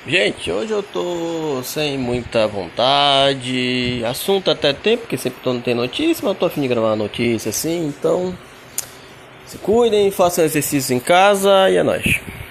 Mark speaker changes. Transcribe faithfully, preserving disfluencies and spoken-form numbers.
Speaker 1: Gente, hoje eu tô sem muita vontade. Assunto até tem, porque sempre tô não tem notícia, mas eu tô a fim de gravar uma notícia assim, então se cuidem, façam exercício em casa e é nóis.